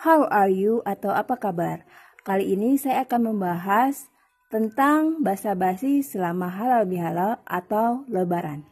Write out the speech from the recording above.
How are you atau apa kabar? Kali ini saya akan membahas tentang basa-basi selama halal bihalal atau lebaran.